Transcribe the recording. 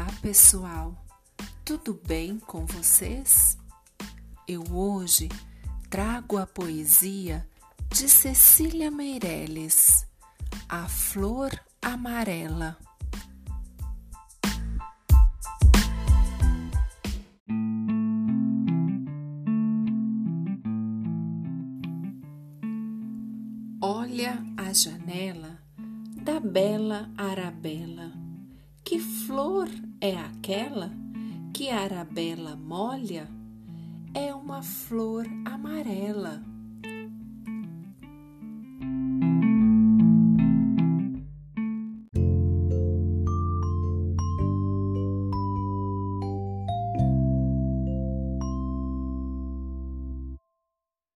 Olá, pessoal! Tudo bem com vocês? Eu hoje trago a poesia de Cecília Meirelles, A Flor Amarela. Olha a janela da bela Arabella. Que flor é aquela que a Arabella molha? É uma flor amarela.